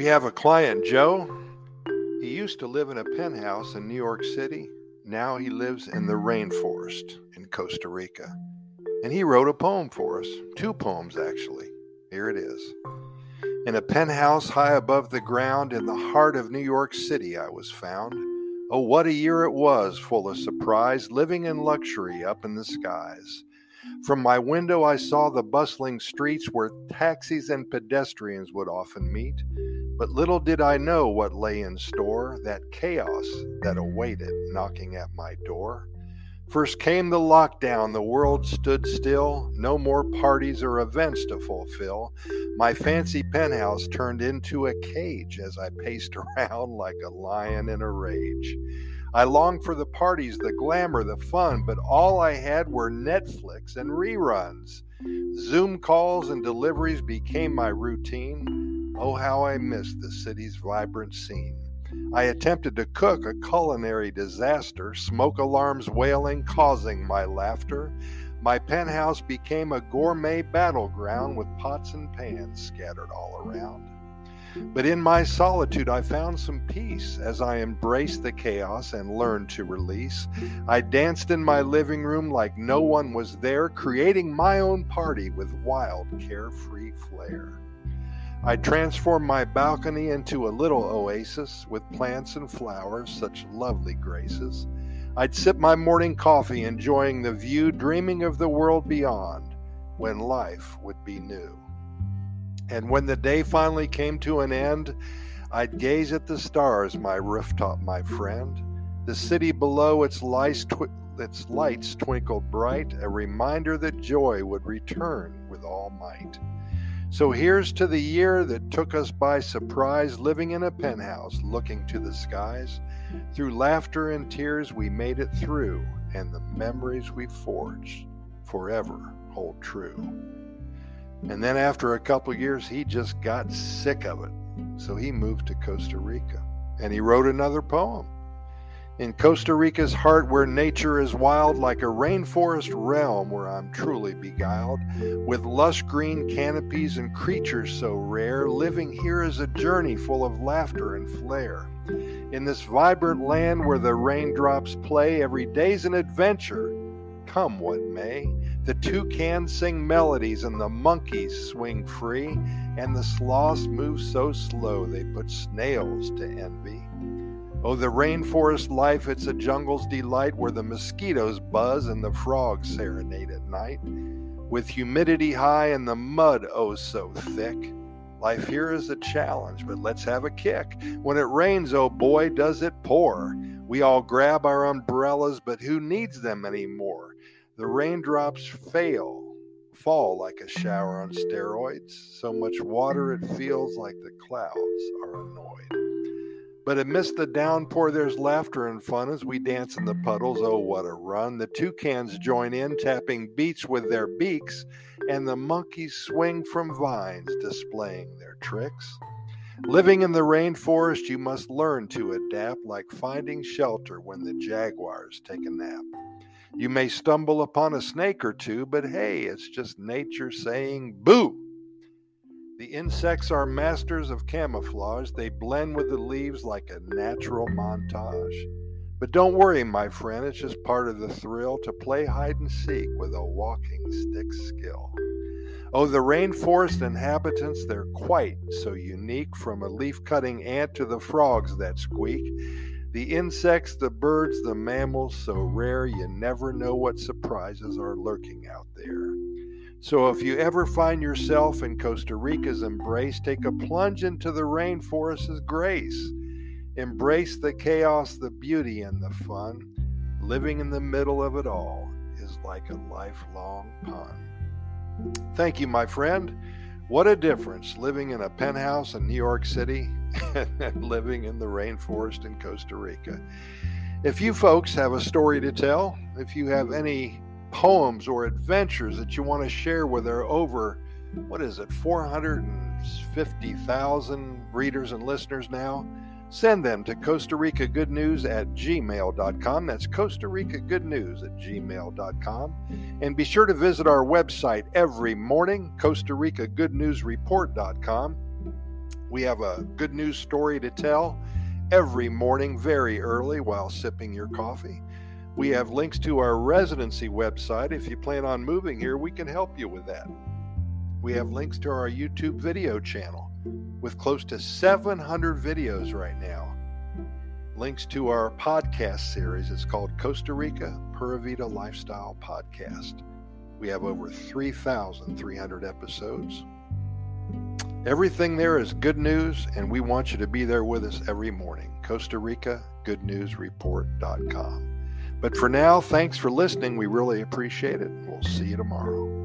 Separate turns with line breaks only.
have a client, Joe. He used to live in a penthouse in New York City. Now he lives in the rainforest in Costa Rica. And he wrote a poem for us. 2 poems, actually. Here it is. In a penthouse high above the ground in the heart of New York City I was found. Oh, what a year it was, full of surprise, living in luxury up in the skies. From my window I saw the bustling streets where taxis and pedestrians would often meet. But little did I know what lay in store, that chaos that awaited knocking at my door. First came the lockdown, the world stood still, no more parties or events to fulfill. My fancy penthouse turned into a cage as I paced around like a lion in a rage. I longed for the parties, the glamour, the fun, but all I had were Netflix and reruns. Zoom calls and deliveries became my routine. Oh, how I missed the city's vibrant scene. I attempted to cook, a culinary disaster, smoke alarms wailing, causing my laughter. My penthouse became a gourmet battleground with pots and pans scattered all around. But in my solitude I found some peace as I embraced the chaos and learned to release. I danced in my living room like no one was there, creating my own party with wild, carefree flair. I transformed my balcony into a little oasis with plants and flowers, such lovely graces. I'd sip my morning coffee, enjoying the view, dreaming of the world beyond, when life would be new. And when the day finally came to an end, I'd gaze at the stars, my rooftop, my friend. The city below, its lights twinkled bright, a reminder that joy would return with all might. So here's to the year that took us by surprise, living in a penthouse, looking to the skies. Through laughter and tears we made it through, and the memories we forged forever hold true. And then after a couple years, he just got sick of it. So he moved to Costa Rica, and he wrote another poem. In Costa Rica's heart, where nature is wild, like a rainforest realm where I'm truly beguiled, with lush green canopies and creatures so rare, living here is a journey full of laughter and flair. In this vibrant land where the raindrops play, every day's an adventure, come what may. The toucans sing melodies and the monkeys swing free, and the sloths move so slow they put snails to envy. Oh, the rainforest life, it's a jungle's delight where the mosquitoes buzz and the frogs serenade at night. With humidity high and the mud oh so thick, life here is a challenge, but let's have a kick. When it rains, oh boy, does it pour. We all grab our umbrellas, but who needs them anymore? The raindrops fall like a shower on steroids. So much water it feels like the clouds are annoyed. But amidst the downpour, there's laughter and fun as we dance in the puddles. Oh, what a run. The toucans join in, tapping beats with their beaks, and the monkeys swing from vines, displaying their tricks. Living in the rainforest, you must learn to adapt, like finding shelter when the jaguars take a nap. You may stumble upon a snake or two, but hey, it's just nature saying boo. The insects are masters of camouflage. They blend with the leaves like a natural montage. But don't worry, my friend, it's just part of the thrill to play hide and seek with a walking stick skill. Oh, the rainforest inhabitants, they're quite so unique, from a leaf-cutting ant to the frogs that squeak. The insects, the birds, the mammals, so rare you never know what surprises are lurking out there. So if you ever find yourself in Costa Rica's embrace, take a plunge into the rainforest's grace. Embrace the chaos, the beauty, and the fun. Living in the middle of it all is like a lifelong pun. Thank you, my friend. What a difference living in a penthouse in New York City and living in the rainforest in Costa Rica. If you folks have a story to tell, if you have any poems or adventures that you want to share with our over, 450,000 readers and listeners now, send them to Costa Rica Good News at gmail.com. That's Costa Rica Good News at gmail.com. And be sure to visit our website every morning, Costa Rica Good News Report.com. We have a good news story to tell every morning very early while sipping your coffee. We have links to our residency website. If you plan on moving here, we can help you with that. We have links to our YouTube video channel with close to 700 videos right now. Links to our podcast series. It's called Costa Rica Pura Vida Lifestyle Podcast. We have over 3,300 episodes. Everything there is good news, and we want you to be there with us every morning. Costa Rica GoodNewsReport.com. But for now, thanks for listening. We really appreciate it. We'll see you tomorrow.